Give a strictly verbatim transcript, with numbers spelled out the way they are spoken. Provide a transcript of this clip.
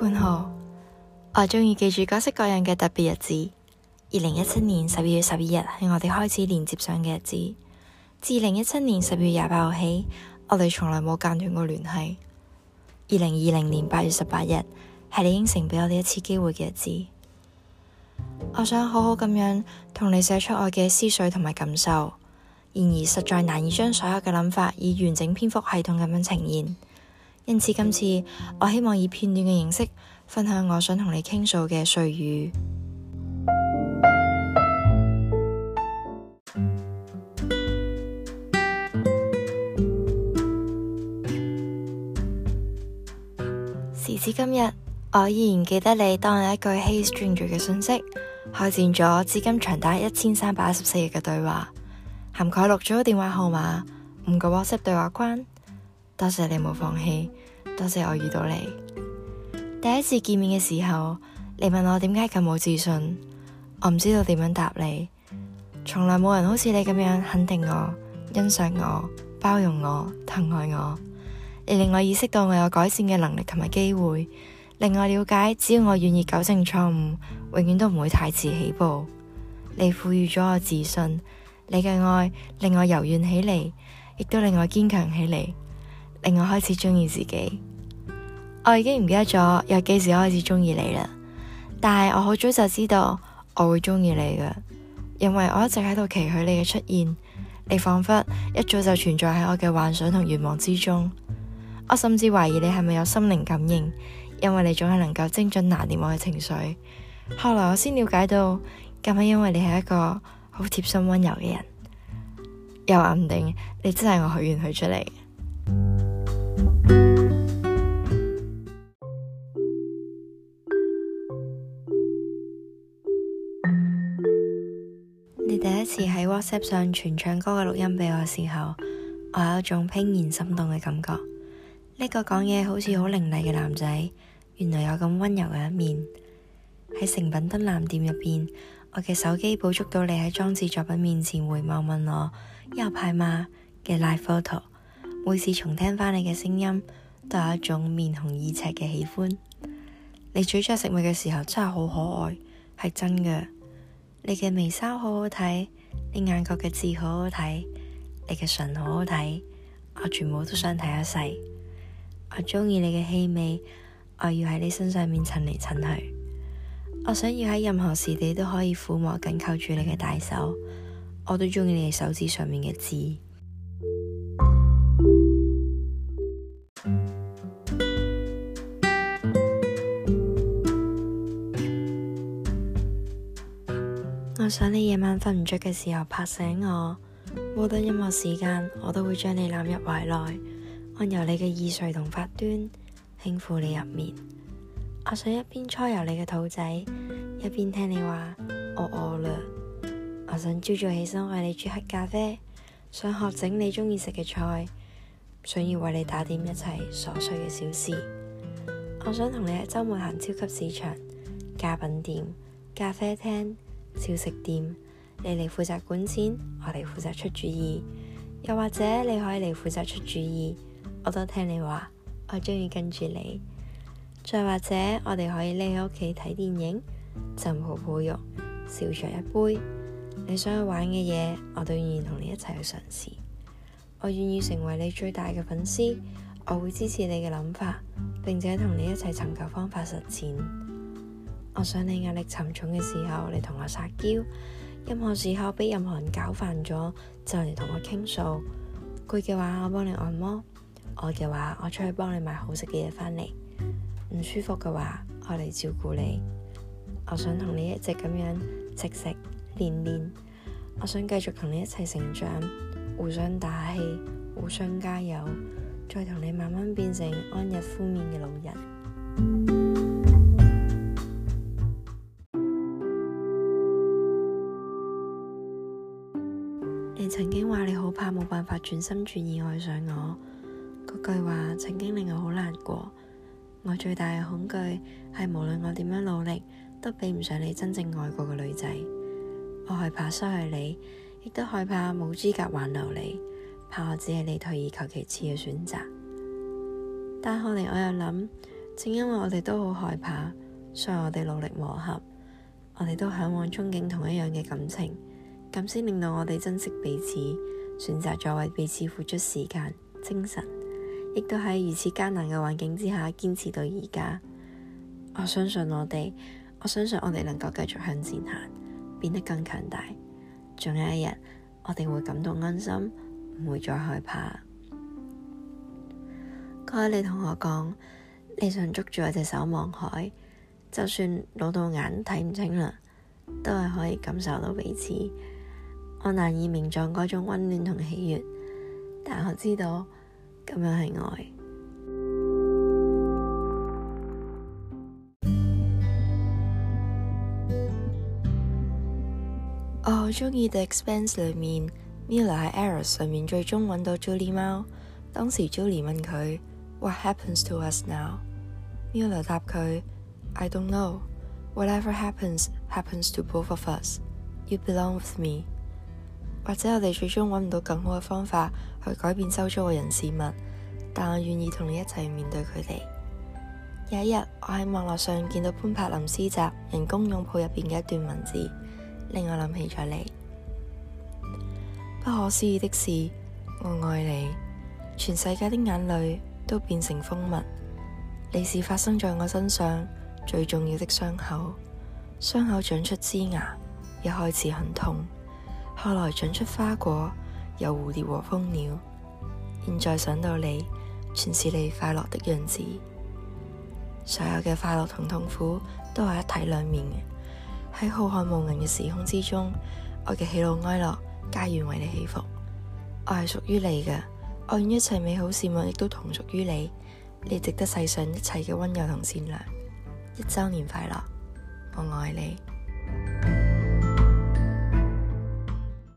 潘浩，我鍾意記住各式各樣嘅特別日子。二零一七年十二月十二日係我哋開始連接上嘅日子。自二零一七年十月廿八號起，我哋從來冇間斷過聯繫。二零二零年八月十八日係你應承俾我哋一次機會嘅日子。我想好好咁樣同你寫出我嘅思緒同埋感受，然而實在難以將所有嘅諗法以完整篇幅系統咁樣呈現。因此今次我希望以片段嘅形式分享我想同你傾訴嘅碎語。時至今日，我依然記得你當日一句 Hey Stranger 嘅訊息，開展咗至今長達一千三百一十四日嘅對話，涵蓋六組電話號碼、五個 WhatsApp 對話框。多謝你冇放棄，多謝我遇到你。第一次見面嘅時候，你問我點解咁冇自信，我唔知道點樣答你。從來冇人好似你咁樣肯定我、欣賞我、包容我、疼愛我。你令我意識到我有改善嘅能力同埋機會，令我了解只要我願意糾正錯誤，永遠都唔會太遲起步。你賦予咗我自信，你嘅愛令我柔軟起嚟，亦都令我堅強起嚟，令我開始鍾意自己。我已經唔記得咗由幾時開始鍾意你啦，但係我好早就知道我會鍾意你㗎，因為我一直喺度期許你嘅出現。你仿佛一早就存在喺我嘅幻想同願望之中。我甚至懷疑你係咪有心靈感應，因為你總係能夠精準拿捏我嘅情緒。後來我先了解到，咁係因為你係一個好貼心溫柔嘅人，又話唔定你真係我許願許出嚟。你第一次喺 WhatsApp 上傳唱歌嘅錄音俾我嘅時候，我有一種怦然心動嘅感覺。呢個講嘢好似好伶俐嘅男仔，原來有咁溫柔嘅一面。喺誠品敦南店入邊，我嘅手機捕捉到你喺裝置作品面前回眸問我有派嗎嘅 live photo。每次重聽返你嘅聲音，都有一種面紅耳赤嘅喜歡。你咀嚼食物嘅時候真係好可愛，係真嘅。你嘅眉梢好好睇，你眼角嘅痣好好睇，你嘅唇好好睇，我全部都想睇一世。我鍾意你嘅氣味，我要喺你身上面襯嚟襯去。我想要喺任何時地都可以撫摸緊扣住你嘅大手。我都鍾意你手指上面嘅痣。我想你夜晚瞓唔着嘅時候拍醒我，無論任何時間，我都會將你攬入懷內，按揉你嘅耳垂同髮端，輕撫你入眠。我想一邊搓揉你嘅肚仔，一邊聽你話我餓啦。我想朝早起身為你煮黑咖啡，想學整你鍾意食嘅菜，想要為你打點一切瑣碎嘅小事。我想同你喺周末行超級市場、家品店、咖啡廳、小食店，你嚟負責管錢，我嚟負責出主意。又或者你可以嚟負責出主意，我都聽你話，我鍾意跟住你。再或者我哋可以匿喺屋企睇電影，浸泡泡浴，小酌一杯。你想去玩嘅嘢，我都願意同你一齊去嘗試。我願意成為你最大嘅粉絲，我會支持你嘅諗法，並且同你一齊尋求方法實踐。我想你壓力沉重嘅時候，你同我撒嬌；任何時候俾任何人搞煩咗，就嚟同我傾訴。攰嘅話，我幫你按摩；餓嘅話，我出去幫你買好食嘅嘢返嚟；唔舒服嘅話，我嚟照顧你。我想同你一直咁樣食食練練。我想繼續同你一齊成長，互相打氣，互相加油，再同你慢慢變成安逸敷面嘅老人。你曾經話你好怕冇辦法轉心轉意愛上我，嗰句話曾經令我好難過。我最大嘅恐懼係無論我點樣努力，都比唔上你真正愛過嘅女仔。我害怕失去你，亦都害怕冇資格挽留你，怕我只係你退而求其次嘅選擇。但後嚟我又諗， 正因為我哋都好害怕，所以我哋努力磨合，我哋都嚮往憧憬同一樣嘅感情，咁先令到我哋珍惜彼此，選擇咗為彼此付出時間、精神，亦都喺如此艱難嘅環境之下堅持到而家。我相信我哋，我相信我哋能夠繼續向前行，變得更強大。總有一日，我哋會感到安心，唔會再害怕。嗰日你同我講，你想捉住我隻手望海，就算老到眼睇唔清啦，都係可以感受到彼此。我難以名狀嗰種溫暖同喜悅，但我知道咁樣係愛。我好鍾意 The Expanse 裏面 Miller 喺 Eros 上面最終揾到 Julie 貓。當時 Julie 問佢 What happens to us now？ Miller 答佢 I don't know. Whatever happens, happens to both of us. You belong with me. 或者我哋最終揾唔到更好嘅方法去改變周遭嘅人事物，但我願意同你一齊面對佢哋。有一日，我喺網絡上見到潘柏林詩集《人工擁抱》入邊嘅一段文字，令我諗起咗你。不可思議的是，我愛你，全世界的眼淚都變成蜂蜜。你是發生在我身上最重要的傷口，傷口長出枝芽，一開始很痛，後來長出花果，有蝴蝶和蜂鳥。現在想到你，全是你快樂的樣子。所有嘅快樂同痛苦都係一體兩面嘅。喺浩瀚無垠嘅時空之中，我嘅喜怒哀樂皆願為你起伏。我係屬於你嘅，我願一切美好事物亦都同屬於你。你值得世上一切嘅溫柔同善良。一周年快樂，我愛你。